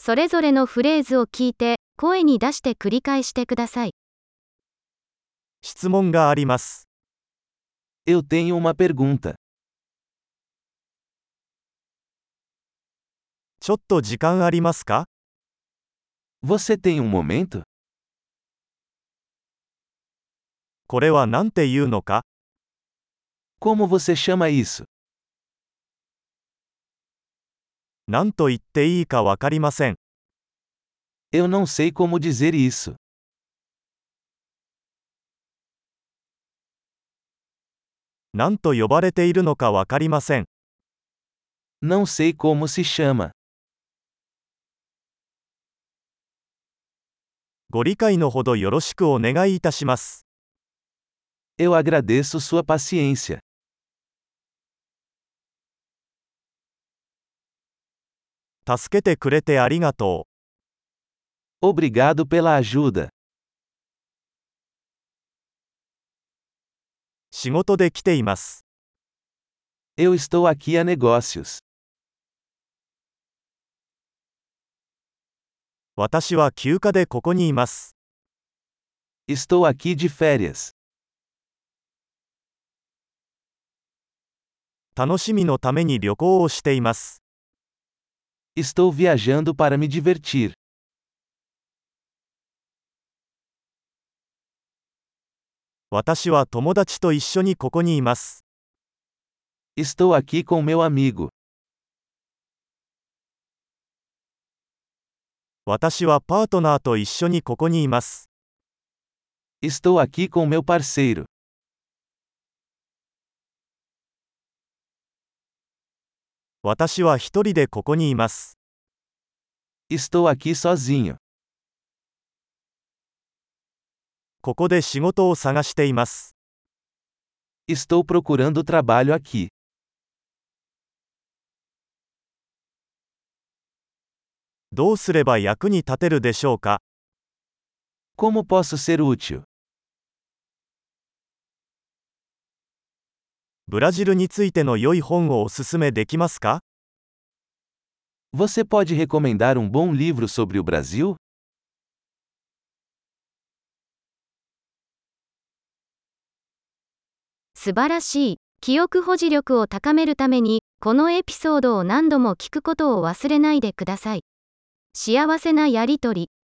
それぞれのフレーズを聞いて、声に出して繰り返してください。 質問があります。 Eu tenho uma pergunta. ちょっと時間ありますか？ Você tem momento? これは何て言うのか？ Como você chama isso? 何と言っていいかわかりません。 Eu não sei como dizer isso. 何と呼ばれているのかわかりません。 Não sei como se chama. ご理解のほどよろしくお願いいたします。 Eu agradeço sua paciência. 助けてくれてありがとう。 Obrigado pela ajuda. 仕事で来ています。 Eu estou aqui a negócios. 私は休暇でここにいます。 Estou aqui de férias. 楽しみのために旅行をしています。 Estou viajando para me divertir. 私は友達と一緒にここにいます。 Estou aqui com meu amigo. 私はパートナーと一緒にここにいます。 Estou aqui com meu parceiro. 私は一人でここにいます。 Estou aqui sozinho. ここで仕事を探しています。 Estou procurando trabalho aqui. どうすれば役に立てるでしょうか？ Como posso ser útil? ブラジルについての良い本をおすすめできますか？ Você pode recomendar bom livro sobre o Brasil? 素晴らしい。記憶保持力を高めるために、このエピソードを何度も聞くことを忘れないでください。幸せなやりとり。